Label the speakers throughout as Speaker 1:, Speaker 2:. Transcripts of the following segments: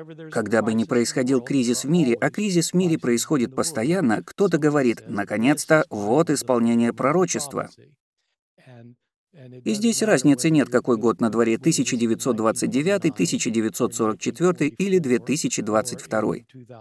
Speaker 1: Когда бы ни происходил кризис в мире, а кризис в мире происходит постоянно, кто-то говорит: «Наконец-то, вот исполнение пророчества». И здесь разницы нет, какой год на дворе — 1929, 1944 или 2022.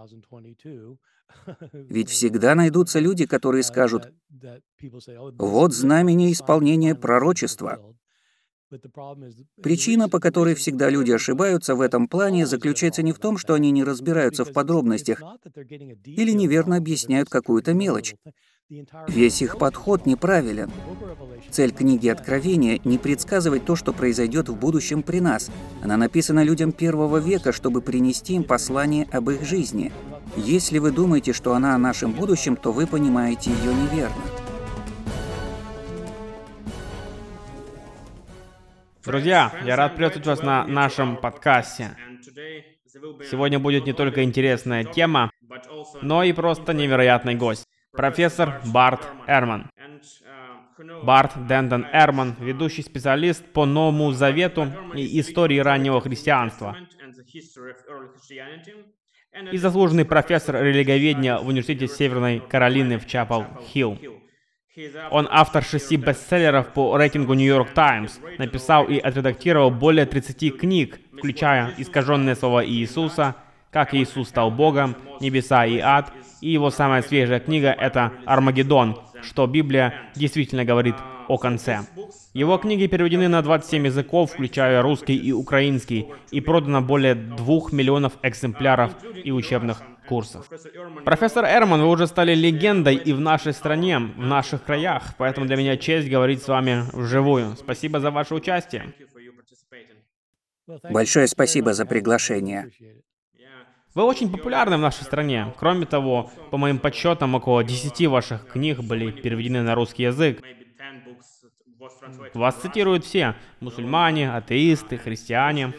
Speaker 1: Ведь всегда найдутся люди, которые скажут: «Вот знамение исполнения пророчества». Причина, по которой всегда люди ошибаются в этом плане, заключается не в том, что они не разбираются в подробностях или неверно объясняют какую-то мелочь. Весь их подход неправилен. Цель книги Откровения — не предсказывать то, что произойдет в будущем при нас. Она написана людям первого века, чтобы принести им послание об их жизни. Если вы думаете, что она о нашем будущем, то вы понимаете ее неверно.
Speaker 2: Друзья, я рад приветствовать вас на нашем подкасте. Сегодня будет не только интересная тема, но и просто невероятный гость. Профессор Барт Эрман. Барт Дентон Эрман, ведущий специалист по Новому Завету и истории раннего христианства. И заслуженный профессор религиоведения в Университете Северной Каролины в Чапел-Хилл. Он автор 6 бестселлеров по рейтингу New York Times, написал и отредактировал более 30 книг, включая «Искаженное слово Иисуса», «Как Иисус стал Богом», «Небеса и ад», и его самая свежая книга — это «Армагеддон», что Библия действительно говорит о конце. Его книги переведены на 27 языков, включая русский и украинский, и продано более 2 миллионов экземпляров и учебных курсов. Профессор Эрман, вы уже стали легендой и в нашей стране, в наших краях, поэтому для меня честь говорить с вами вживую. Спасибо за ваше участие.
Speaker 1: Большое спасибо за приглашение.
Speaker 2: Вы очень популярны в нашей стране. Кроме того, по моим подсчетам, около 10 ваших книг были переведены на русский язык. Вас цитируют все: мусульмане, атеисты, христиане.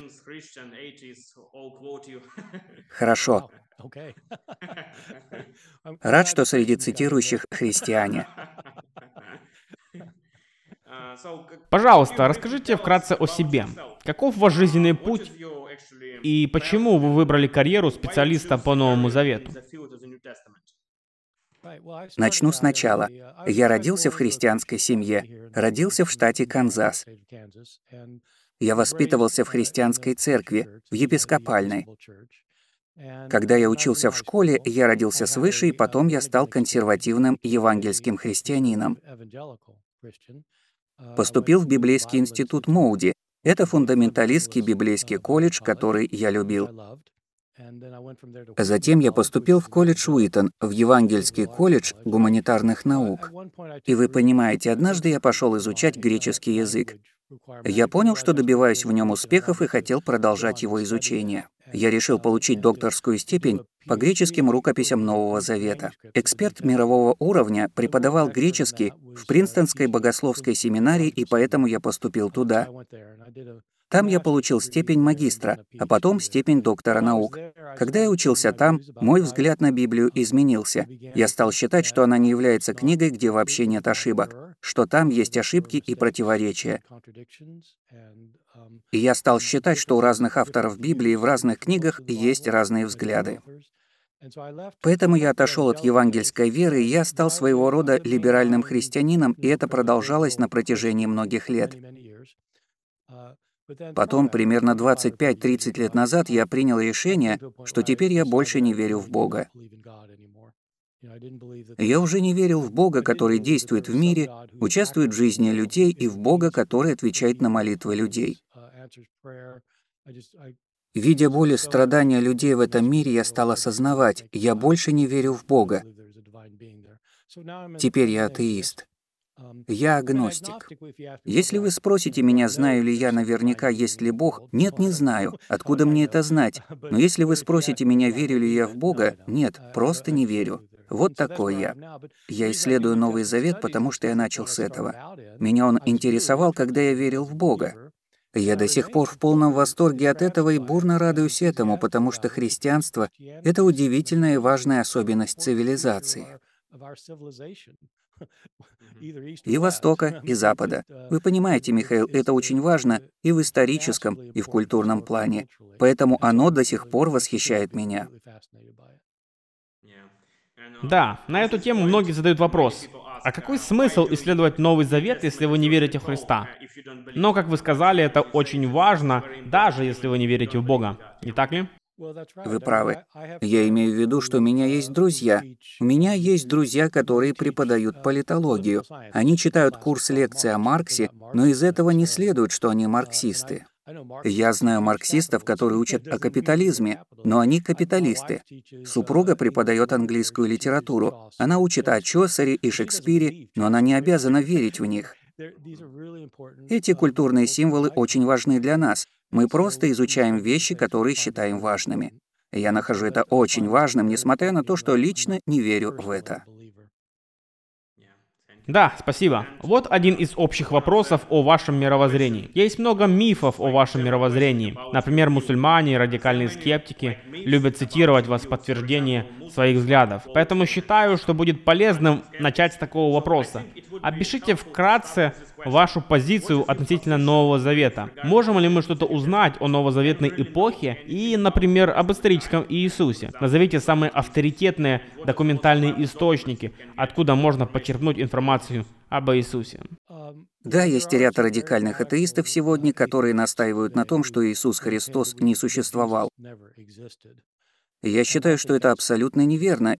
Speaker 1: Хорошо. Рад, что среди цитирующих христиане.
Speaker 2: Пожалуйста, расскажите вкратце о себе. Каков ваш жизненный путь и почему вы выбрали карьеру специалиста по Новому Завету?
Speaker 1: Начну сначала. Я родился в христианской семье. Родился в штате Канзас. Я воспитывался в христианской церкви, в епископальной. Когда я учился в школе, я родился свыше, и потом я стал консервативным евангельским христианином. Поступил в библейский институт Моуди. Это фундаменталистский библейский колледж, который я любил. Затем я поступил в колледж Уитон, в евангельский колледж гуманитарных наук. И вы понимаете, однажды я пошел изучать греческий язык. Я понял, что добиваюсь в нем успехов и хотел продолжать его изучение. Я решил получить докторскую степень по греческим рукописям Нового Завета. Эксперт мирового уровня преподавал греческий в Принстонской богословской семинарии, и поэтому я поступил туда. Там я получил степень магистра, а потом степень доктора наук. Когда я учился там, мой взгляд на Библию изменился. Я стал считать, что она не является книгой, где вообще нет ошибок, что там есть ошибки и противоречия. И я стал считать, что у разных авторов Библии в разных книгах есть разные взгляды. Поэтому я отошел от евангельской веры, и я стал своего рода либеральным христианином, и это продолжалось на протяжении многих лет. Потом, примерно 25-30 лет назад, я принял решение, что теперь я больше не верю в Бога. Я уже не верил в Бога, который действует в мире, участвует в жизни людей, и в Бога, который отвечает на молитвы людей. Видя боль и страдания людей в этом мире, я стал осознавать, я больше не верю в Бога. Теперь я атеист. Я агностик. Если вы спросите меня, знаю ли я наверняка, есть ли Бог, нет, не знаю. Откуда мне это знать? Но если вы спросите меня, верю ли я в Бога, нет, просто не верю. Вот такой я. Я исследую Новый Завет, потому что я начал с этого. Меня он интересовал, когда я верил в Бога. Я до сих пор в полном восторге от этого и бурно радуюсь этому, потому что христианство — это удивительная и важная особенность цивилизации. И Востока, и Запада. Вы понимаете, Михаил, это очень важно и в историческом, и в культурном плане. Поэтому оно до сих пор восхищает меня.
Speaker 2: Да, на эту тему многие задают вопрос. А какой смысл исследовать Новый Завет, если вы не верите в Христа? Но, как вы сказали, это очень важно, даже если вы не верите в Бога. Не так ли?
Speaker 1: Вы правы. Я имею в виду, что у меня есть друзья. У меня есть друзья, которые преподают политологию. Они читают курс лекций о Марксе, но из этого не следует, что они марксисты. Я знаю марксистов, которые учат о капитализме, но они капиталисты. Супруга преподает английскую литературу. Она учит о Чосере и Шекспире, но она не обязана верить в них. Эти культурные символы очень важны для нас. Мы просто изучаем вещи, которые считаем важными. Я нахожу это очень важным, несмотря на то, что лично не верю в это.
Speaker 2: Да, спасибо. Вот один из общих вопросов о вашем мировоззрении. Есть много мифов о вашем мировоззрении. Например, мусульмане и радикальные скептики любят цитировать вас в подтверждение своих взглядов. Поэтому считаю, что будет полезным начать с такого вопроса. Опишите вкратце вашу позицию относительно Нового Завета. Можем ли мы что-то узнать о новозаветной эпохе и, например, об историческом Иисусе? Назовите самые авторитетные документальные источники, откуда можно почерпнуть информацию об Иисусе.
Speaker 1: Да, есть ряд радикальных атеистов сегодня, которые настаивают на том, что Иисус Христос не существовал. Я считаю, что это абсолютно неверно,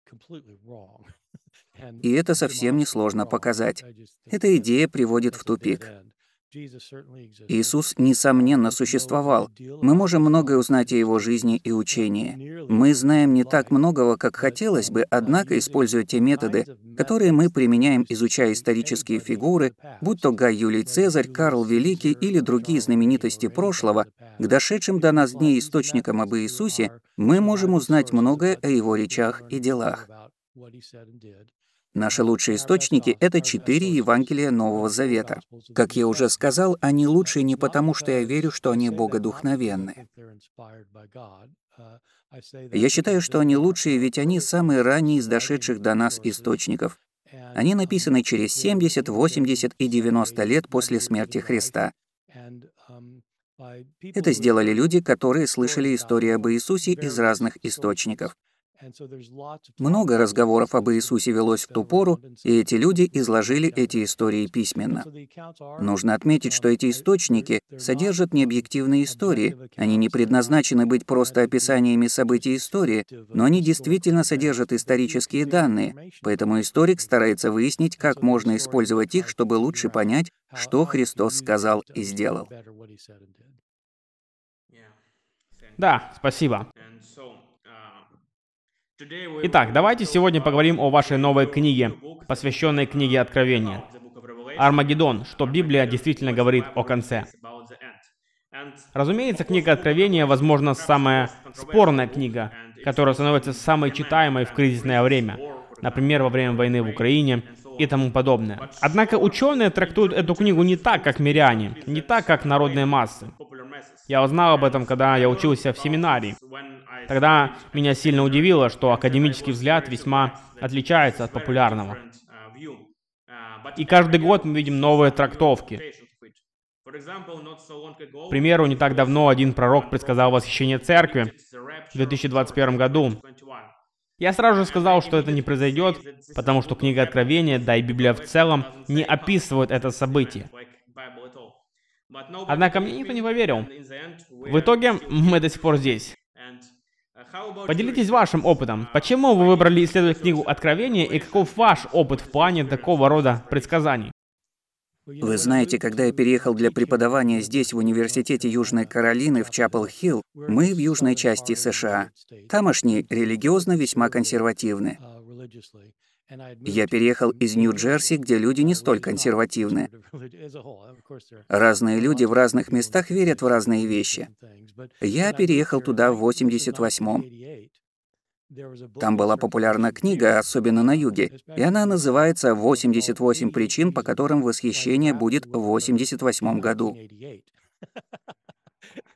Speaker 1: и это совсем несложно показать. Эта идея приводит в тупик. Иисус, несомненно, существовал. Мы можем многое узнать о его жизни и учении. Мы знаем не так многого, как хотелось бы, однако, используя те методы, которые мы применяем, изучая исторические фигуры, будь то Гай Юлий Цезарь, Карл Великий или другие знаменитости прошлого, к дошедшим до нас дней источникам об Иисусе, мы можем узнать многое о его речах и делах. Наши лучшие источники — это 4 Евангелия Нового Завета. Как я уже сказал, они лучшие не потому, что я верю, что они богодухновенны. Я считаю, что они лучшие, ведь они самые ранние из дошедших до нас источников. Они написаны через 70, 80 и 90 лет после смерти Христа. Это сделали люди, которые слышали истории об Иисусе из разных источников. Много разговоров об Иисусе велось в ту пору, и эти люди изложили эти истории письменно. Нужно отметить, что эти источники содержат необъективные истории. Они не предназначены быть просто описаниями событий истории, но они действительно содержат исторические данные, поэтому историк старается выяснить, как можно использовать их, чтобы лучше понять, что Христос сказал и сделал.
Speaker 2: Да, спасибо. Итак, давайте сегодня поговорим о вашей новой книге, посвященной книге Откровения. Армагеддон, что Библия действительно говорит о конце. Разумеется, книга Откровения, возможно, самая спорная книга, которая становится самой читаемой в кризисное время, например, во время войны в Украине и тому подобное. Однако ученые трактуют эту книгу не так, как миряне, не так, как народные массы. Я узнал об этом, когда я учился в семинарии. Тогда меня сильно удивило, что академический взгляд весьма отличается от популярного. И каждый год мы видим новые трактовки. К примеру, не так давно один пророк предсказал восхищение церкви в 2021 году. Я сразу же сказал, что это не произойдет, потому что книга Откровения, да и Библия в целом, не описывают это событие. Однако мне никто не поверил. В итоге мы до сих пор здесь. Поделитесь вашим опытом. Почему вы выбрали исследовать книгу Откровения и каков ваш опыт в плане такого рода предсказаний?
Speaker 1: Вы знаете, когда я переехал для преподавания здесь, в Университете Южной Каролины в Чапел-Хилл, мы в южной части США. Тамошние религиозно весьма консервативны. Я переехал из Нью-Джерси, где люди не столь консервативны. Разные люди в разных местах верят в разные вещи. Я переехал туда в 88-м. Там была популярна книга, особенно на юге, и она называется «88 причин, по которым восхищение будет в 88-м году».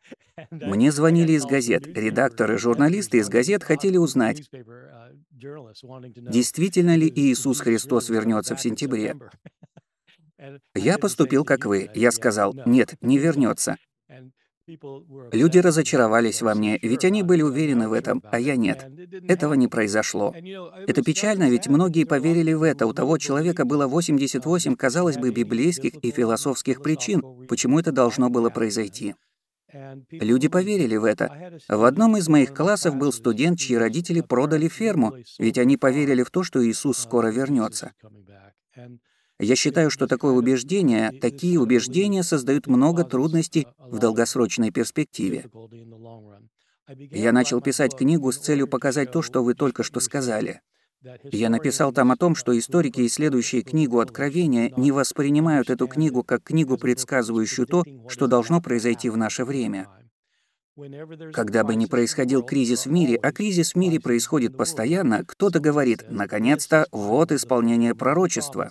Speaker 1: Мне звонили из газет. Редакторы, журналисты из газет хотели узнать, Действительно ли Иисус Христос вернется в сентябре? Я поступил как вы. Я сказал, нет, не вернется. Люди разочаровались во мне, ведь они были уверены в этом, а я нет. Этого не произошло. Это печально, ведь многие поверили в это. У того человека было 88, казалось бы, библейских и философских причин, почему это должно было произойти. Люди поверили в это. В одном из моих классов был студент, чьи родители продали ферму, ведь они поверили в то, что Иисус скоро вернется. Я считаю, что такие убеждения создают много трудностей в долгосрочной перспективе. Я начал писать книгу с целью показать то, что вы только что сказали. Я написал там о том, что историки, исследующие книгу Откровения, не воспринимают эту книгу как книгу, предсказывающую то, что должно произойти в наше время. Когда бы ни происходил кризис в мире, а кризис в мире происходит постоянно, кто-то говорит, наконец-то, вот исполнение пророчества.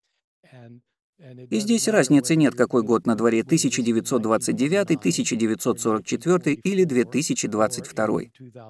Speaker 1: И здесь разницы нет, какой год на дворе, 1929, 1944 или 2022.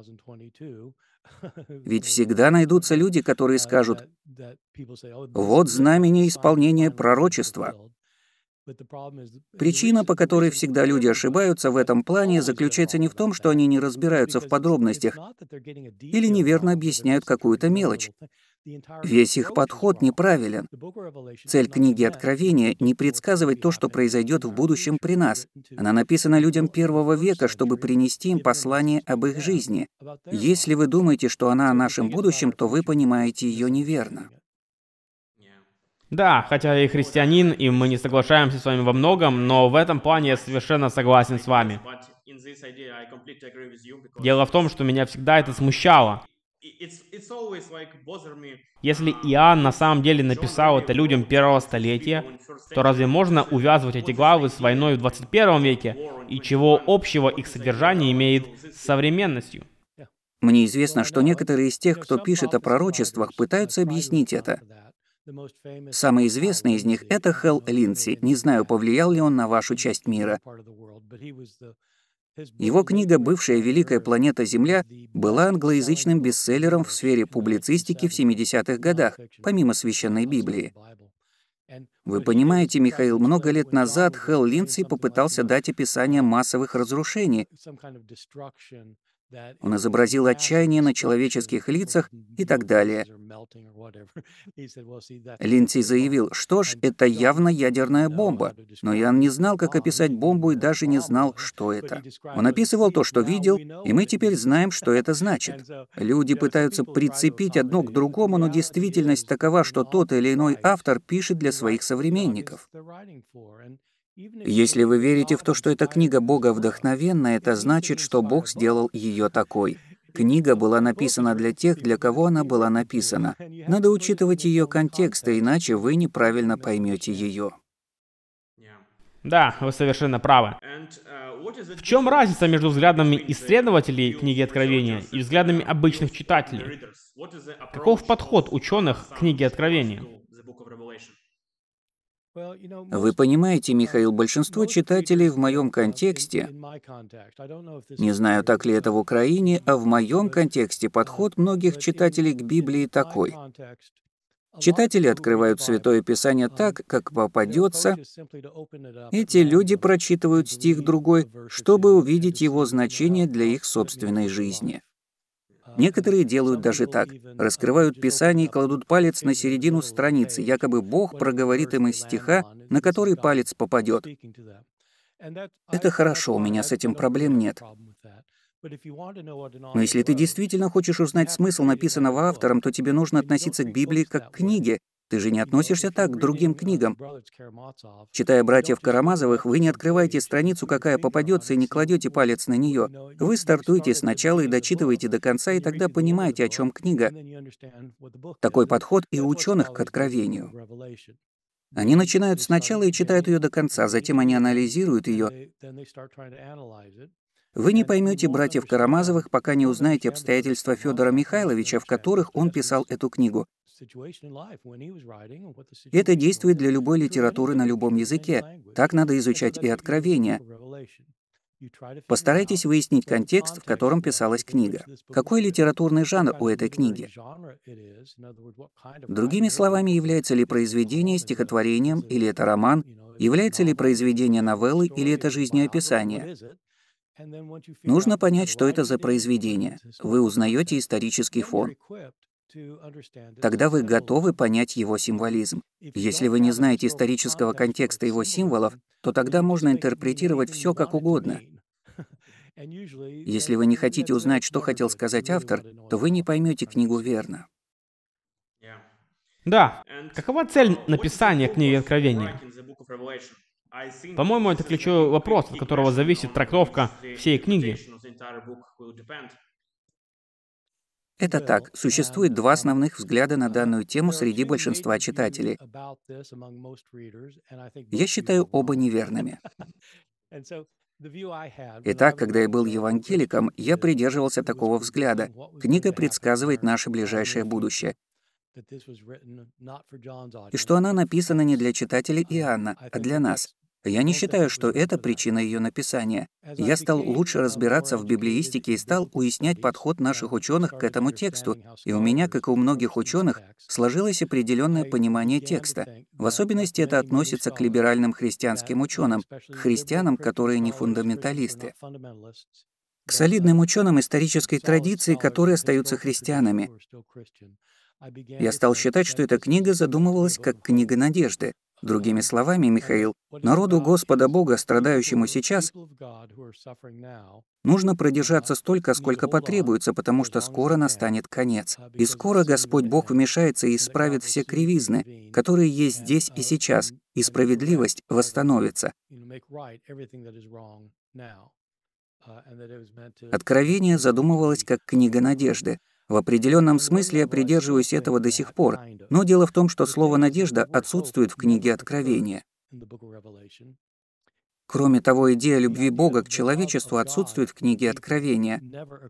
Speaker 1: Ведь всегда найдутся люди, которые скажут, вот знамение исполнения пророчества. Причина, по которой всегда люди ошибаются в этом плане, заключается не в том, что они не разбираются в подробностях или неверно объясняют какую-то мелочь. Весь их подход неправилен. Цель книги Откровения — не предсказывать то, что произойдет в будущем при нас. Она написана людям первого века, чтобы принести им послание об их жизни. Если вы думаете, что она о нашем будущем, то вы понимаете ее неверно.
Speaker 2: Да, хотя я и христианин, и мы не соглашаемся с вами во многом, но в этом плане я совершенно согласен с вами. Дело в том, что меня всегда это смущало. Если Иоанн на самом деле написал это людям первого столетия, то разве можно увязывать эти главы с войной в 21 веке, и чего общего их содержание имеет с современностью?
Speaker 1: Мне известно, что некоторые из тех, кто пишет о пророчествах, пытаются объяснить это. Самый известный из них — это Хэл Линдси. Не знаю, повлиял ли он на вашу часть мира. Его книга «Бывшая великая планета Земля» была англоязычным бестселлером в сфере публицистики в 70-х годах, помимо Священной Библии. Вы понимаете, Михаил, много лет назад Хэл Линдси попытался дать описание массовых разрушений. Он изобразил отчаяние на человеческих лицах и так далее. Линдси заявил, что ж, это явно ядерная бомба. Но Иоанн не знал, как описать бомбу, и даже не знал, что это. Он описывал то, что видел, и мы теперь знаем, что это значит. Люди пытаются прицепить одно к другому, но действительность такова, что тот или иной автор пишет для своих современников. Если вы верите в то, что эта книга Бога вдохновенна, это значит, что Бог сделал ее такой. Книга была написана для тех, для кого она была написана. Надо учитывать ее контекст, иначе вы неправильно поймете ее.
Speaker 2: Да, вы совершенно правы. В чем разница между взглядами исследователей книги Откровения и взглядами обычных читателей? Каков подход ученых к книге Откровения?
Speaker 1: Вы понимаете, Михаил, большинство читателей в моем контексте, не знаю, так ли это в Украине, а в моем контексте подход многих читателей к Библии такой. Читатели открывают Святое Писание так, как попадется. Эти люди прочитывают стих другой, чтобы увидеть его значение для их собственной жизни. Некоторые делают даже так. Раскрывают Писание и кладут палец на середину страницы, якобы Бог проговорит им из стиха, на который палец попадет. Это хорошо, у меня с этим проблем нет. Но если ты действительно хочешь узнать смысл написанного автором, то тебе нужно относиться к Библии как к книге. Ты же не относишься так к другим книгам. Читая «Братьев Карамазовых», вы не открываете страницу, какая попадется, и не кладете палец на нее. Вы стартуете сначала и дочитываете до конца, и тогда понимаете, о чем книга. Такой подход и у ученых к Откровению. Они начинают сначала и читают ее до конца, затем они анализируют ее. Вы не поймете «Братьев Карамазовых», пока не узнаете обстоятельства Федора Михайловича, в которых он писал эту книгу. Это действует для любой литературы на любом языке. Так надо изучать и Откровение. Постарайтесь выяснить контекст, в котором писалась книга. Какой литературный жанр у этой книги? Другими словами, является ли произведение стихотворением или это роман? Является ли произведение новеллой или это жизнеописание? Нужно понять, что это за произведение. Вы узнаете исторический фон. Тогда вы готовы понять его символизм. Если вы не знаете исторического контекста его символов, то тогда можно интерпретировать все как угодно. Если вы не хотите узнать, что хотел сказать автор, то вы не поймете книгу верно.
Speaker 2: Да. Какова цель написания книги Откровения? По-моему, это ключевой вопрос, от которого зависит трактовка всей книги.
Speaker 1: Это так. Существует два основных взгляда на данную тему среди большинства читателей. Я считаю оба неверными. Итак, когда я был евангеликом, я придерживался такого взгляда. Книга предсказывает наше ближайшее будущее. И что она написана не для читателей Иоанна, а для нас. Я не считаю, что это причина ее написания. Я стал лучше разбираться в библеистике и стал уяснять подход наших ученых к этому тексту, и у меня, как и у многих ученых, сложилось определенное понимание текста. В особенности это относится к либеральным христианским ученым, к христианам, которые не фундаменталисты, к солидным ученым исторической традиции, которые остаются христианами. Я стал считать, что эта книга задумывалась как книга надежды. Другими словами, Михаил, народу Господа Бога, страдающему сейчас, нужно продержаться столько, сколько потребуется, потому что скоро настанет конец. И скоро Господь Бог вмешается и исправит все кривизны, которые есть здесь и сейчас, и справедливость восстановится. Откровение задумывалось как книга надежды. В определенном смысле я придерживаюсь этого до сих пор, но дело в том, что слово «надежда» отсутствует в книге Откровения. Кроме того, идея любви Бога к человечеству отсутствует в книге Откровения.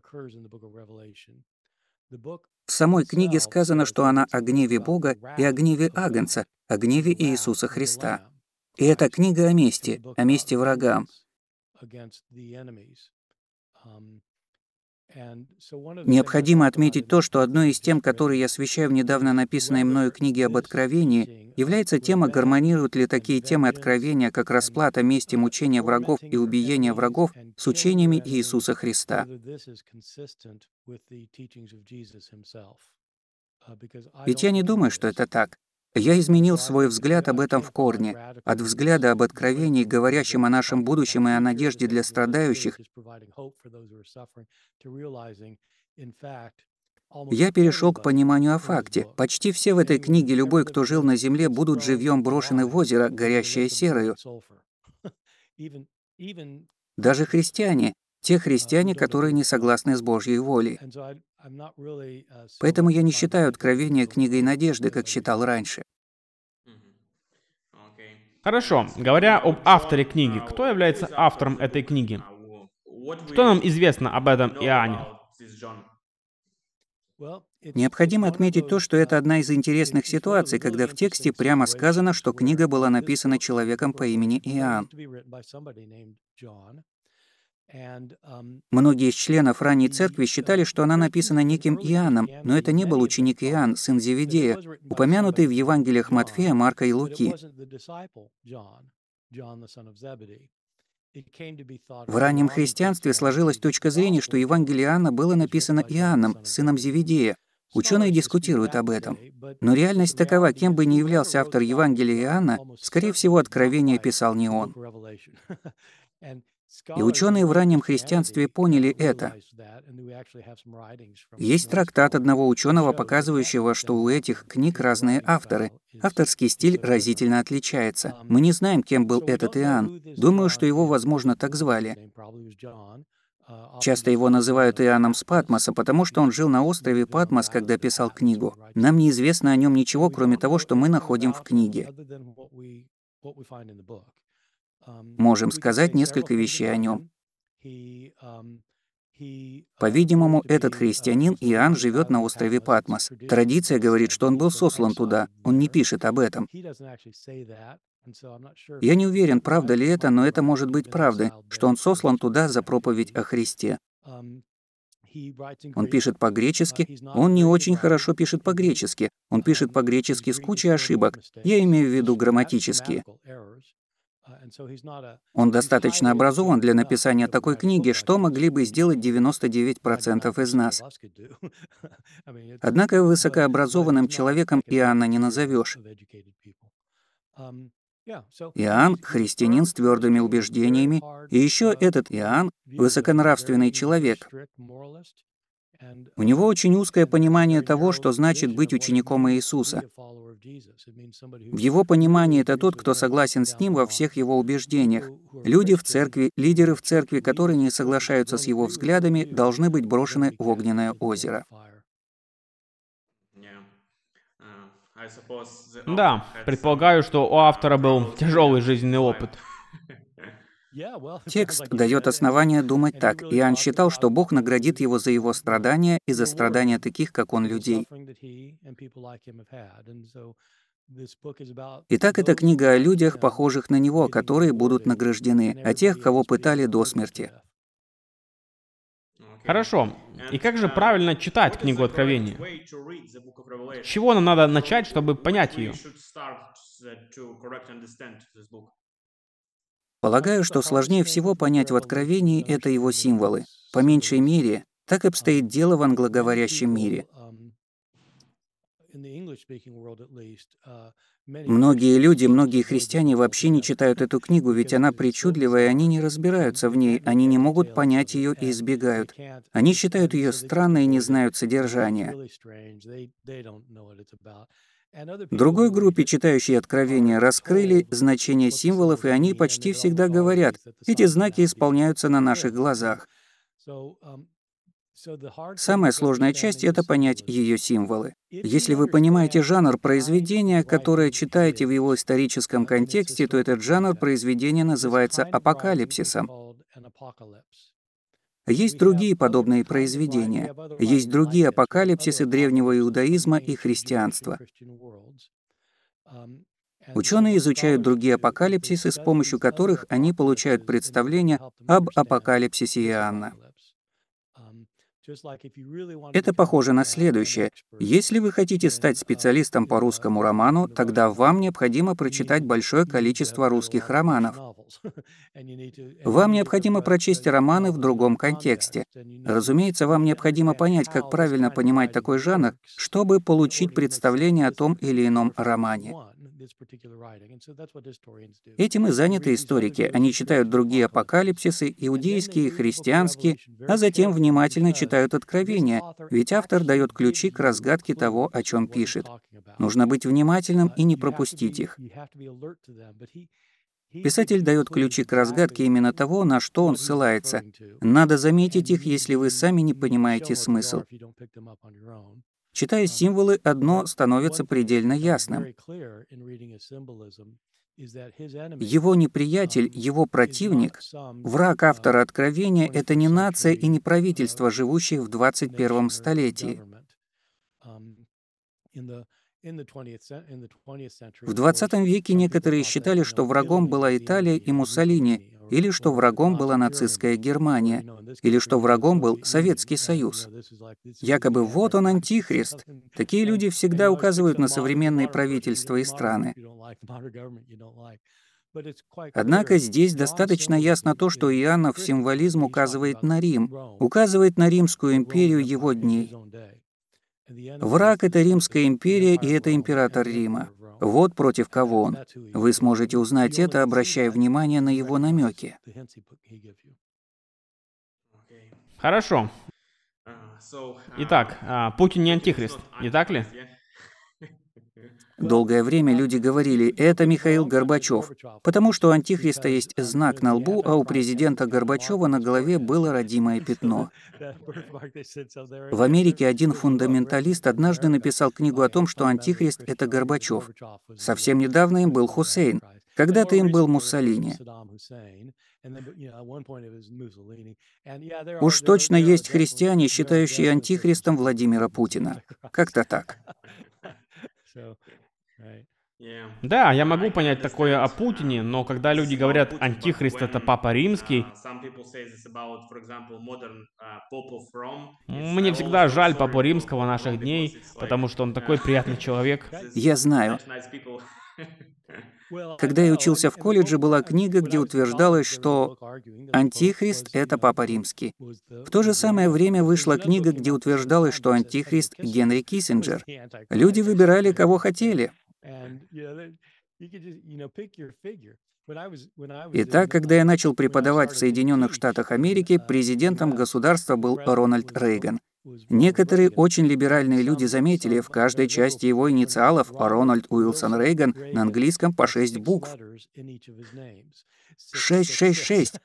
Speaker 1: В самой книге сказано, что она о гневе Бога и о гневе Агнца, о гневе Иисуса Христа. И это книга о мести врагам. Необходимо отметить то, что одной из тем, которые я освещаю в недавно написанной мною книге об Откровении, является тема, гармонируют ли такие темы Откровения, как расплата, месть и мучение врагов и убиение врагов, с учениями Иисуса Христа. Ведь я не думаю, что это так. Я изменил свой взгляд об этом в корне, от взгляда об Откровении, говорящем о нашем будущем и о надежде для страдающих. Я перешел к пониманию о факте. Почти все в этой книге, любой, кто жил на земле, будут живьем брошены в озеро, горящее серою. Даже христиане, те христиане, которые не согласны с Божьей волей. Поэтому я не считаю Откровение книгой надежды, как считал раньше.
Speaker 2: Хорошо. Говоря об авторе книги, кто является автором этой книги? Что нам известно об этом Иоанне?
Speaker 1: Необходимо отметить то, что это одна из интересных ситуаций, когда в тексте прямо сказано, что книга была написана человеком по имени Иоанн. Многие из членов ранней церкви считали, что она написана неким Иоанном, но это не был ученик Иоанн, сын Зеведея, упомянутый в Евангелиях Матфея, Марка и Луки. В раннем христианстве сложилась точка зрения, что Евангелие Иоанна было написано Иоанном, сыном Зеведея. Ученые дискутируют об этом. Но реальность такова: кем бы ни являлся автор Евангелия Иоанна, скорее всего, Откровение писал не он. И ученые в раннем христианстве поняли это. Есть трактат одного ученого, показывающего, что у этих книг разные авторы. Авторский стиль разительно отличается. Мы не знаем, кем был этот Иоанн. Думаю, что его, возможно, так звали. Часто его называют Иоанном с Патмоса, потому что он жил на острове Патмос, когда писал книгу. Нам неизвестно о нем ничего, кроме того, что мы находим в книге. Можем сказать несколько вещей о нем. По-видимому, этот христианин Иоанн живет на острове Патмос. Традиция говорит, что он был сослан туда. Он не пишет об этом. Я не уверен, правда ли это, но это может быть правдой, что он сослан туда за проповедь о Христе. Он пишет по-гречески, он не очень хорошо пишет по-гречески, он пишет по-гречески с кучей ошибок, я имею в виду грамматические. Он достаточно образован для написания такой книги, что могли бы сделать 99% из нас. Однако высокообразованным человеком Иоанна не назовешь. Иоанн — христианин с твердыми убеждениями, и еще этот Иоанн — высоконравственный человек. У него очень узкое понимание того, что значит быть учеником Иисуса. В его понимании это тот, кто согласен с ним во всех его убеждениях. Люди в церкви, лидеры в церкви, которые не соглашаются с его взглядами, должны быть брошены в огненное озеро.
Speaker 2: Да, предполагаю, что у автора был тяжелый жизненный опыт.
Speaker 1: Текст дает основание думать так. Иоанн считал, что Бог наградит его за его страдания и за страдания таких, как он, людей. Итак, это книга о людях, похожих на него, которые будут награждены, о тех, кого пытали до смерти.
Speaker 2: Хорошо. И как же правильно читать книгу Откровения? С чего нам надо начать, чтобы понять ее?
Speaker 1: Полагаю, что сложнее всего понять в Откровении — это его символы. По меньшей мере, так обстоит дело в англоговорящем мире. Многие христиане вообще не читают эту книгу, ведь она причудливая, и они не разбираются в ней, они не могут понять ее и избегают. Они считают ее странной и не знают содержания. Другой группе, читающей Откровения, раскрыли значение символов, и они почти всегда говорят, эти знаки исполняются на наших глазах. Самая сложная часть — это понять ее символы. Если вы понимаете жанр произведения, которое читаете в его историческом контексте, то этот жанр произведения называется апокалипсисом. Есть другие подобные произведения. Есть другие апокалипсисы древнего иудаизма и христианства. Ученые изучают другие апокалипсисы, с помощью которых они получают представление об апокалипсисе Иоанна. Это похоже на следующее. Если вы хотите стать специалистом по русскому роману, тогда вам необходимо прочитать большое количество русских романов. Вам необходимо прочесть романы в другом контексте. Разумеется, вам необходимо понять, как правильно понимать такой жанр, чтобы получить представление о том или ином романе. Этим и заняты историки. Они читают другие апокалипсисы, иудейские и христианские, а затем внимательно читают Откровения, ведь автор дает ключи к разгадке того, о чем пишет. Нужно быть внимательным и не пропустить их. Писатель дает ключи к разгадке именно того, на что он ссылается. Надо заметить их, если вы сами не понимаете смысл. Читая символы, одно становится предельно ясным. Его неприятель, его противник, враг автора Откровения — это не нация и не правительство, живущие в 21 столетии. В 20 веке некоторые считали, что врагом была Италия и Муссолини, или что врагом была нацистская Германия, или что врагом был Советский Союз. Якобы вот он антихрист. Такие люди всегда указывают на современные правительства и страны. Однако здесь достаточно ясно то, что Иоаннов символизм указывает на Рим, указывает на Римскую империю его дней. Враг — это Римская империя, и это император Рима. Вот против кого он. Вы сможете узнать это, обращая внимание на его намеки.
Speaker 2: Хорошо. Итак, Путин не антихрист, не так ли?
Speaker 1: Долгое время люди говорили, это Михаил Горбачев, потому что у антихриста есть знак на лбу, а у президента Горбачева на голове было родимое пятно. В Америке один фундаменталист однажды написал книгу о том, что антихрист — это Горбачев. Совсем недавно им был Хусейн, когда-то им был Муссолини. Уж точно есть христиане, считающие антихристом Владимира Путина. Как-то так.
Speaker 2: Да, я могу понять такое о Путине, но когда люди говорят «Антихрист — это Папа Римский», мне всегда жаль Папу Римского наших дней, потому что он такой приятный человек.
Speaker 1: Я знаю. Когда я учился в колледже, была книга, где утверждалось, что Антихрист — это Папа Римский. В то же самое время вышла книга, где утверждалось, что Антихрист — Генри Киссинджер. Люди выбирали, кого хотели. Итак, когда я начал преподавать в Соединенных Штатах Америки, президентом государства был Рональд Рейган. Некоторые очень либеральные люди заметили в каждой части его инициалов Рональд Уилсон Рейган на английском по 6 букв. 666.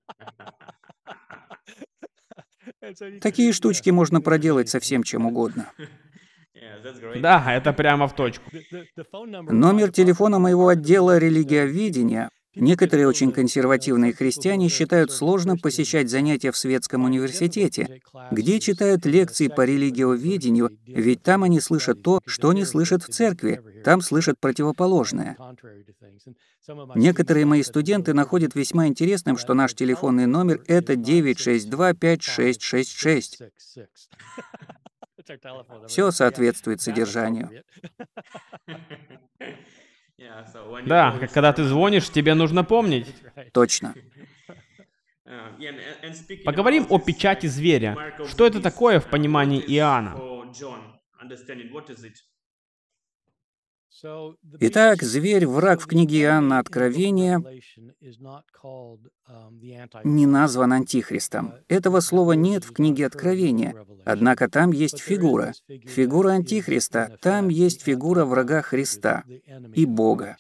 Speaker 1: Такие штучки можно проделать со всем чем угодно.
Speaker 2: Да, это прямо в точку.
Speaker 1: Номер телефона моего отдела религиоведения. Некоторые очень консервативные христиане считают сложным посещать занятия в светском университете, где читают лекции по религиоведению, ведь там они слышат то, что не слышат в церкви, там слышат противоположное. Некоторые мои студенты находят весьма интересным, что наш телефонный номер — это 962-5666. Все соответствует содержанию.
Speaker 2: Да, как когда ты звонишь, тебе нужно помнить.
Speaker 1: Точно.
Speaker 2: Поговорим о печати зверя. Что это такое в понимании Иоанна?
Speaker 1: Итак, зверь, враг в книге Иоанна Откровения, не назван Антихристом. Этого слова нет в книге Откровения. Однако там есть фигура. Фигура Антихриста. Там есть фигура врага Христа и Бога.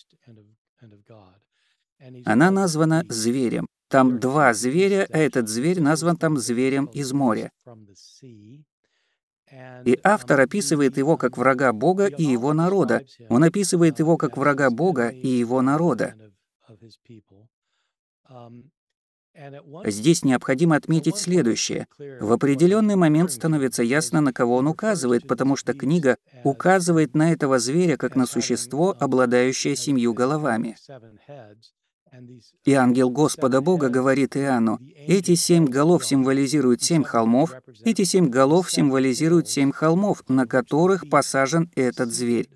Speaker 1: Она названа зверем. Там два зверя, а этот зверь назван там зверем из моря. И автор описывает его как врага Бога и его народа. Он описывает его как врага Бога и его народа. Здесь необходимо отметить следующее. В определенный момент становится ясно, на кого он указывает, потому что книга указывает на этого зверя как на существо, обладающее 7 головами. И ангел Господа Бога говорит Иоанну: эти 7 голов символизируют 7 холмов, эти 7 голов символизируют 7 холмов, на которых посажен этот зверь.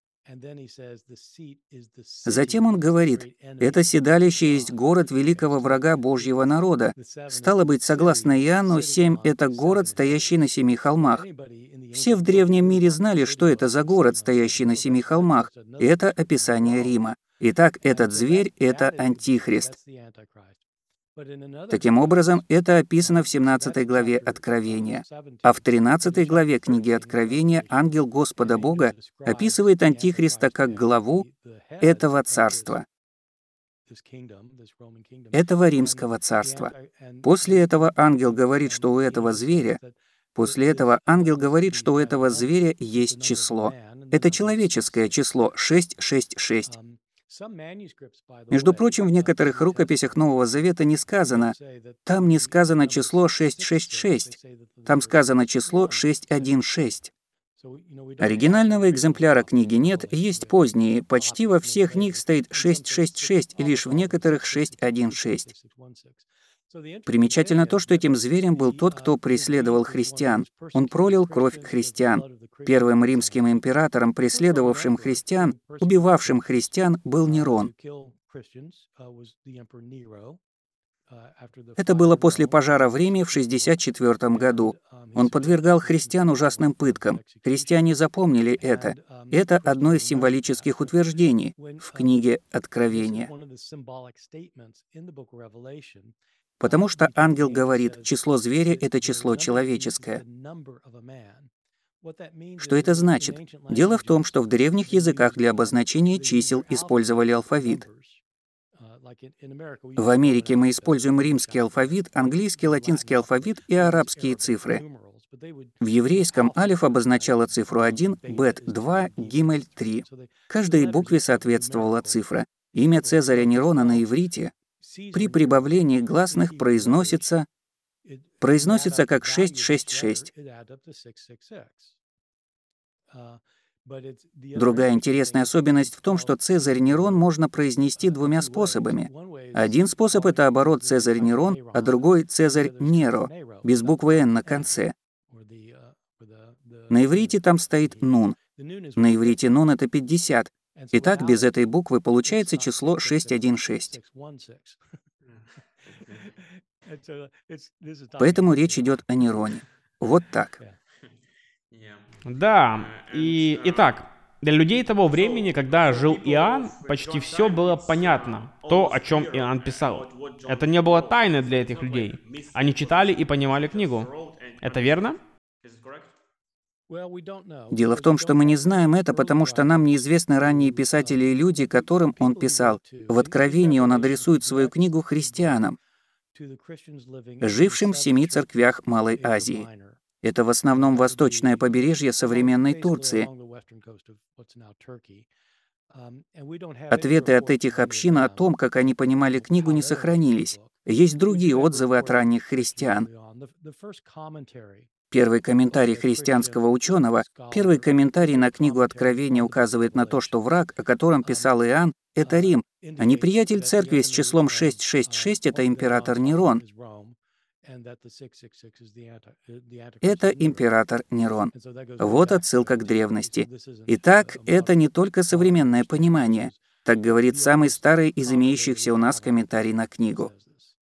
Speaker 1: Затем он говорит: это седалище есть город великого врага Божьего народа. Стало быть, согласно Иоанну, 7 — это город, стоящий на 7 холмах. Все в древнем мире знали, что это за город, стоящий на 7 холмах. Это описание Рима. Итак, этот зверь — это Антихрист. Таким образом, это описано в 17 главе Откровения. А в 13 главе книги Откровения ангел Господа Бога описывает Антихриста как главу этого царства, этого римского царства. После этого ангел говорит, что у этого зверя есть число. Это человеческое число 666. Между прочим, в некоторых рукописях Нового Завета не сказано, там не сказано число 666, там сказано число 616. Оригинального экземпляра книги нет, есть поздние, почти во всех них стоит 666, и лишь в некоторых 616. Примечательно то, что этим зверем был тот, кто преследовал христиан. Он пролил кровь христиан. Первым римским императором, преследовавшим христиан, убивавшим христиан, был Нерон. Это было после пожара в Риме в 64 году. Он подвергал христиан ужасным пыткам. Христиане запомнили это. Это одно из символических утверждений в книге Откровения. Потому что ангел говорит, число зверя — это число человеческое. Что это значит? Дело в том, что в древних языках для обозначения чисел использовали алфавит. В Америке мы используем римский алфавит, английский, латинский алфавит и арабские цифры. В еврейском алиф обозначала цифру 1, бет — 2, гимель — 3. Каждой букве соответствовала цифра. Имя Цезаря Нерона на иврите при прибавлении гласных произносится как 666. Другая интересная особенность в том, что Цезарь Нерон можно произнести двумя способами. Один способ — это оборот Цезарь Нерон, а другой — Цезарь Неро, без буквы «н» на конце. На иврите там стоит «нун». На иврите «нун» — это 50. Итак, без этой буквы получается число 616. Поэтому речь идет о Нероне. Вот так.
Speaker 2: Да, и итак, для людей того времени, когда жил Иоанн, почти все было понятно, то, о чем Иоанн писал. Это не было тайной для этих людей. Они читали и понимали книгу. Это верно?
Speaker 1: Дело в том, что мы не знаем это, потому что нам неизвестны ранние писатели и люди, которым он писал. В Откровении он адресует свою книгу христианам, жившим в 7 церквях Малой Азии. Это в основном восточное побережье современной Турции. Ответы от этих общин о том, как они понимали книгу, не сохранились. Есть другие отзывы от ранних христиан. Первый комментарий христианского ученого, первый комментарий на книгу Откровения указывает на то, что враг, о котором писал Иоанн, — это Рим, а неприятель церкви с числом 666 — это император Нерон. Это император Нерон. Вот отсылка к древности. Итак, это не только современное понимание. Так говорит самый старый из имеющихся у нас комментарий на книгу.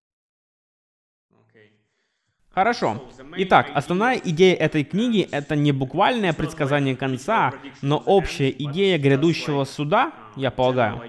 Speaker 2: Хорошо. Итак, основная идея этой книги — это не буквальное предсказание конца, но общая идея грядущего суда, я полагаю.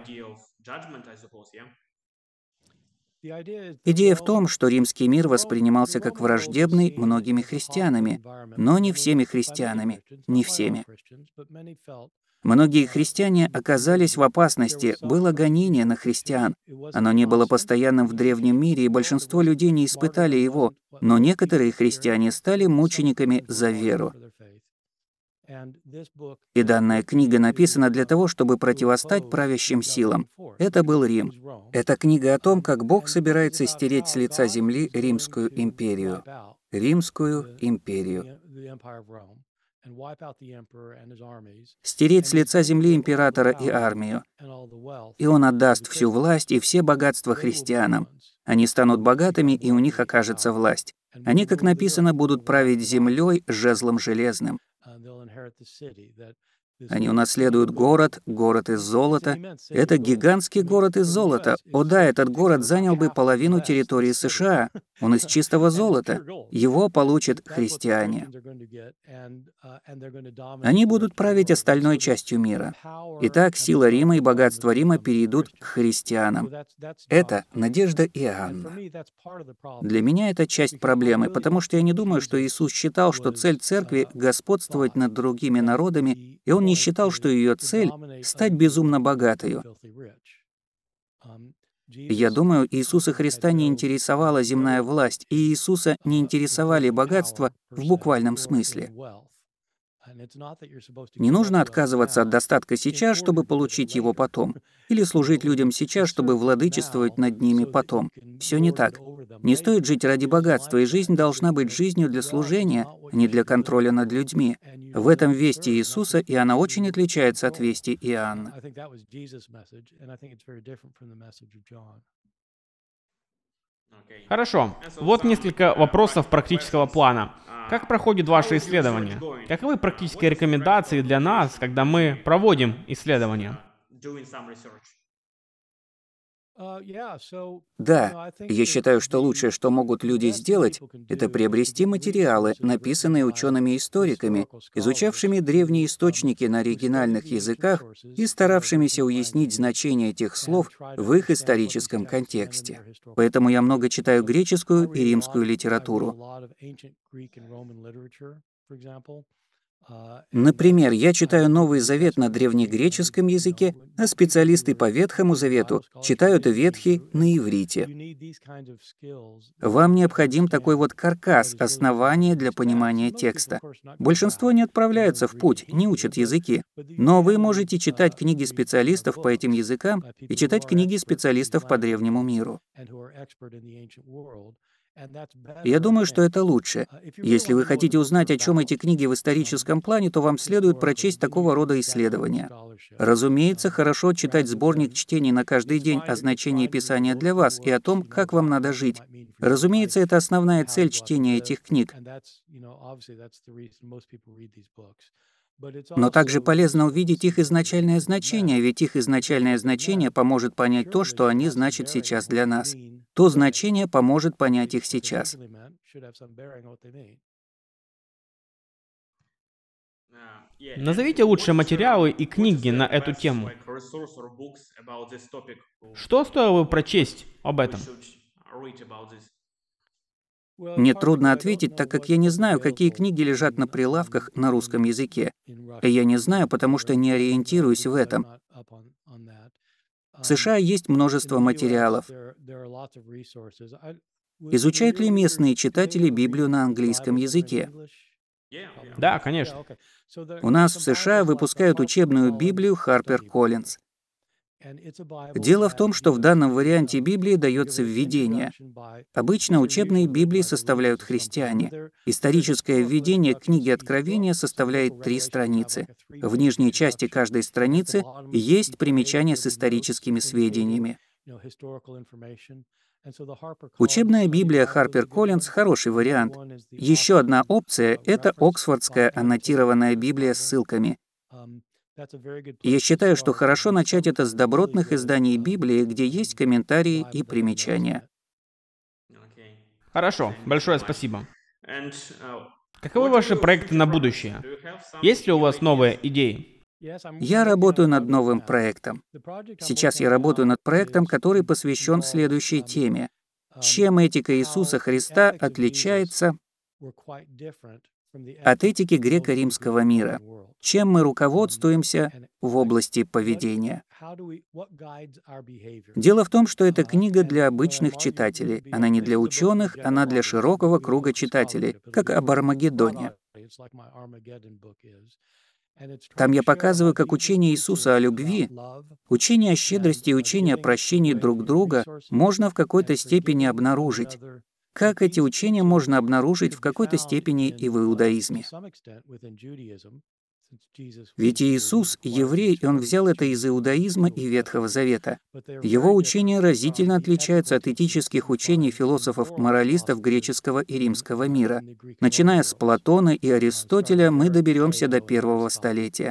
Speaker 1: Идея в том, что римский мир воспринимался как враждебный многими христианами, но не всеми христианами, не всеми. Многие христиане оказались в опасности, было гонение на христиан. Оно не было постоянным в древнем мире, и большинство людей не испытали его, но некоторые христиане стали мучениками за веру. И данная книга написана для того, чтобы противостать правящим силам. Это был Рим. Это книга о том, как Бог собирается стереть с лица земли Римскую империю. Римскую империю. Стереть с лица земли императора и армию. И он отдаст всю власть и все богатства христианам. Они станут богатыми, и у них окажется власть. Они, как написано, будут править землей жезлом железным. Они унаследуют город, город из золота. Это гигантский город из золота. О да, этот город занял бы половину территории США. Он из чистого золота. Его получат христиане. Они будут править остальной частью мира. Итак, сила Рима и богатство Рима перейдут к христианам. Это надежда Иоанна. Для меня это часть проблемы, потому что я не думаю, что Иисус считал, что цель церкви — господствовать над другими народами, и он не считал, что ее цель — стать безумно богатою. Я думаю, Иисуса Христа не интересовала земная власть, и Иисуса не интересовали богатства в буквальном смысле. Не нужно отказываться от достатка сейчас, чтобы получить его потом, или служить людям сейчас, чтобы владычествовать над ними потом. Все не так. Не стоит жить ради богатства, и жизнь должна быть жизнью для служения, а не для контроля над людьми. В этом вести Иисуса, и она очень отличается от вести Иоанна.
Speaker 2: Хорошо. Вот несколько вопросов практического плана. Как проходит ваше исследование? Каковы практические рекомендации для нас, когда мы проводим исследование?
Speaker 1: Да, я считаю, что лучшее, что могут люди сделать, это приобрести материалы, написанные учеными-историками, изучавшими древние источники на оригинальных языках и старавшимися уяснить значение этих слов в их историческом контексте. Поэтому я много читаю греческую и римскую литературу. Например, я читаю Новый Завет на древнегреческом языке, а специалисты по Ветхому Завету читают Ветхий на иврите. Вам необходим такой вот каркас, основание для понимания текста. Большинство не отправляются в путь, не учат языки. Но вы можете читать книги специалистов по этим языкам и читать книги специалистов по древнему миру. Я думаю, что это лучше. Если вы хотите узнать, о чем эти книги в историческом плане, то вам следует прочесть такого рода исследования. Разумеется, хорошо читать сборник чтений на каждый день о значении Писания для вас и о том, как вам надо жить. Разумеется, это основная цель чтения этих книг. Но также полезно увидеть их изначальное значение, ведь их изначальное значение поможет понять то, что они значат сейчас для нас. То значение поможет понять их сейчас.
Speaker 2: Назовите лучшие материалы и книги на эту тему. Что стоило бы прочесть об этом?
Speaker 1: Мне трудно ответить, так как я не знаю, какие книги лежат на прилавках на русском языке. И я не знаю, потому что не ориентируюсь в этом. В США есть множество материалов. Изучают ли местные читатели Библию на английском языке?
Speaker 2: Да, конечно.
Speaker 1: У нас в США выпускают учебную Библию HarperCollins. Дело в том, что в данном варианте Библии дается введение. Обычно учебные Библии составляют христиане. Историческое введение к книге Откровения составляет 3 страницы. В нижней части каждой страницы есть примечание с историческими сведениями. Учебная Библия HarperCollins — хороший вариант. Еще одна опция — это Оксфордская аннотированная Библия с ссылками. Я считаю, что хорошо начать это с добротных изданий Библии, где есть комментарии и примечания.
Speaker 2: Хорошо, большое спасибо. Каковы ваши проекты на будущее? Есть ли у вас новые идеи?
Speaker 1: Я работаю над новым проектом. Сейчас я работаю над проектом, который посвящен следующей теме. Чем этика Иисуса Христа отличается от этики греко-римского мира? Чем мы руководствуемся в области поведения? Дело в том, что эта книга для обычных читателей. Она не для ученых, она для широкого круга читателей, как об Армагеддоне. Там я показываю, как учение Иисуса о любви, учение о щедрости и учение о прощении друг друга можно в какой-то степени обнаружить. Как эти учения можно обнаружить в какой-то степени и в иудаизме? Ведь Иисус — еврей, и Он взял это из иудаизма и Ветхого Завета. Его учения разительно отличаются от этических учений философов-моралистов греческого и римского мира. Начиная с Платона и Аристотеля, мы доберемся до 1-го столетия.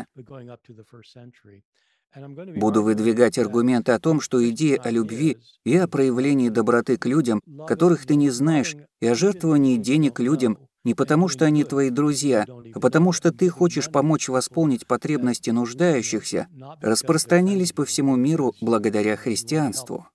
Speaker 1: Буду выдвигать аргументы о том, что идея о любви и о проявлении доброты к людям, которых ты не знаешь, и о жертвовании денег людям, не потому что они твои друзья, а потому что ты хочешь помочь восполнить потребности нуждающихся, распространились по всему миру благодаря христианству.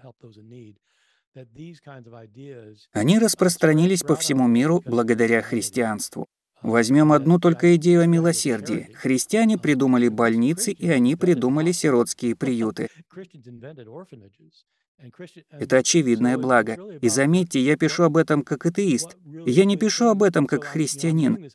Speaker 1: Они распространились по всему миру благодаря христианству. Возьмем одну только идею о милосердии. Христиане придумали больницы, и они придумали сиротские приюты. Это очевидное благо. И заметьте, я пишу об этом как атеист. Я не пишу об этом как христианин.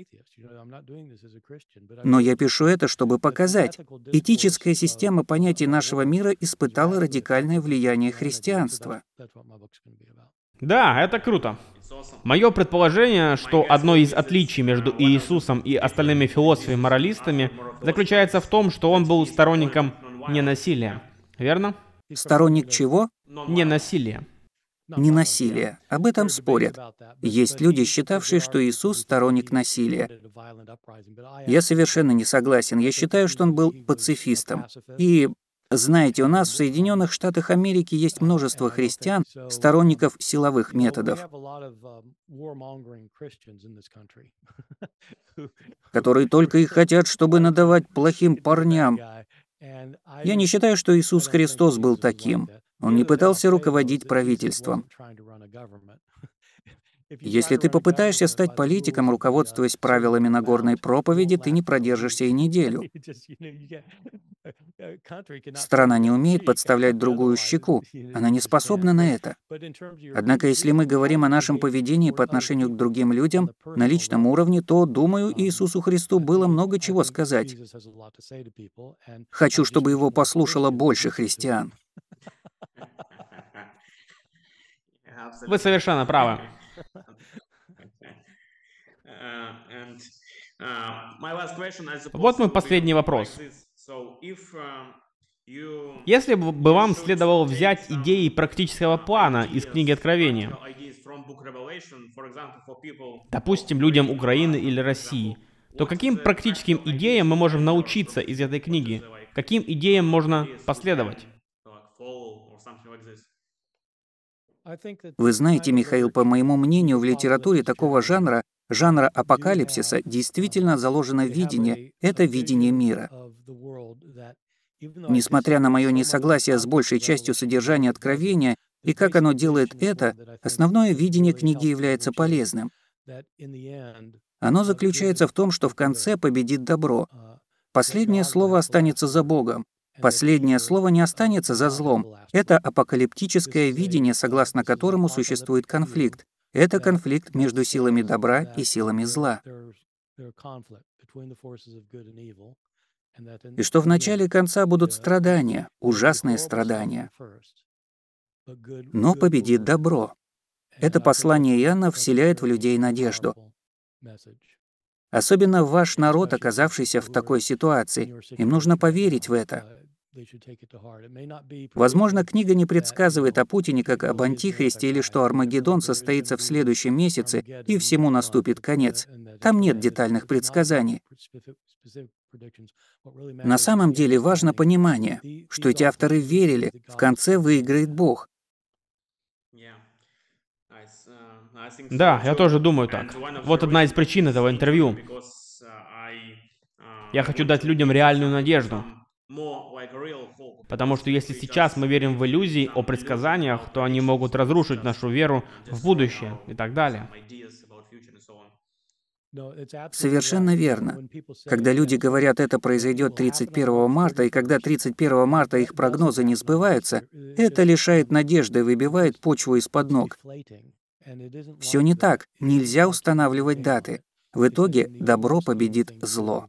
Speaker 1: Но я пишу это, чтобы показать. Этическая система понятий нашего мира испытала радикальное влияние христианства.
Speaker 2: Да, это круто. Мое предположение, что одно из отличий между Иисусом и остальными философами-моралистами заключается в том, что он был сторонником ненасилия. Верно?
Speaker 1: Сторонник чего?
Speaker 2: Ненасилия.
Speaker 1: Ненасилия. Об этом спорят. Есть люди, считавшие, что Иисус — сторонник насилия. Я совершенно не согласен. Я считаю, что он был пацифистом. И знаете, у нас в Соединенных Штатах Америки есть множество христиан, сторонников силовых методов, которые только и хотят, чтобы надавать плохим парням. Я не считаю, что Иисус Христос был таким. Он не пытался руководить правительством. Если ты попытаешься стать политиком, руководствуясь правилами Нагорной проповеди, ты не продержишься и неделю. Страна не умеет подставлять другую щеку. Она не способна на это. Однако, если мы говорим о нашем поведении по отношению к другим людям на личном уровне, то, думаю, Иисусу Христу было много чего сказать. Хочу, чтобы его послушало больше христиан.
Speaker 2: Вы совершенно правы. Вот мой последний вопрос. Если бы вам следовало взять идеи практического плана из книги Откровения, допустим, людям Украины или России, то каким практическим идеям мы можем научиться из этой книги? Каким идеям можно последовать?
Speaker 1: Вы знаете, Михаил, по моему мнению, в литературе такого жанра апокалипсиса, действительно заложено видение. Это видение мира. Несмотря на мое несогласие с большей частью содержания Откровения и как оно делает это, основное видение книги является полезным. Оно заключается в том, что в конце победит добро. Последнее слово останется за Богом. Последнее слово не останется за злом. Это апокалиптическое видение, согласно которому существует конфликт. Это конфликт между силами добра и силами зла. И что в начале и конца будут страдания, ужасные страдания. Но победит добро. Это послание Иоанна вселяет в людей надежду. Особенно ваш народ, оказавшийся в такой ситуации. Им нужно поверить в это. Возможно, книга не предсказывает о Путине как об антихристе или что Армагеддон состоится в следующем месяце и всему наступит конец. Там нет детальных предсказаний. На самом деле важно понимание, что эти авторы верили, в конце выиграет Бог.
Speaker 2: Да, я тоже думаю так. Вот одна из причин этого интервью. Я хочу дать людям реальную надежду. Потому что если сейчас мы верим в иллюзии о предсказаниях, то они могут разрушить нашу веру в будущее и так далее.
Speaker 1: Совершенно верно. Когда люди говорят, это произойдет 31 марта, и когда 31 марта их прогнозы не сбываются, это лишает надежды и выбивает почву из-под ног. Все не так. Нельзя устанавливать даты. В итоге добро победит зло.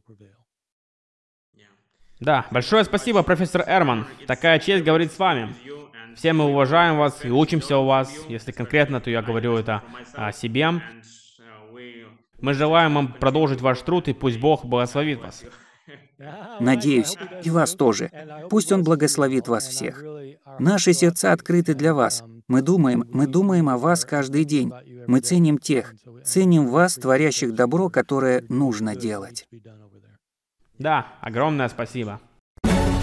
Speaker 2: Да, большое спасибо, профессор Эрман. Такая честь говорить с вами. Все мы уважаем вас и учимся у вас. Если конкретно, то я говорю это о себе. Мы желаем вам продолжить ваш труд, и пусть Бог благословит вас.
Speaker 1: Надеюсь, и вас тоже. Пусть Он благословит вас всех. Наши сердца открыты для вас. Мы думаем о вас каждый день. Мы ценим вас, творящих добро, которое нужно делать.
Speaker 2: Да, огромное спасибо.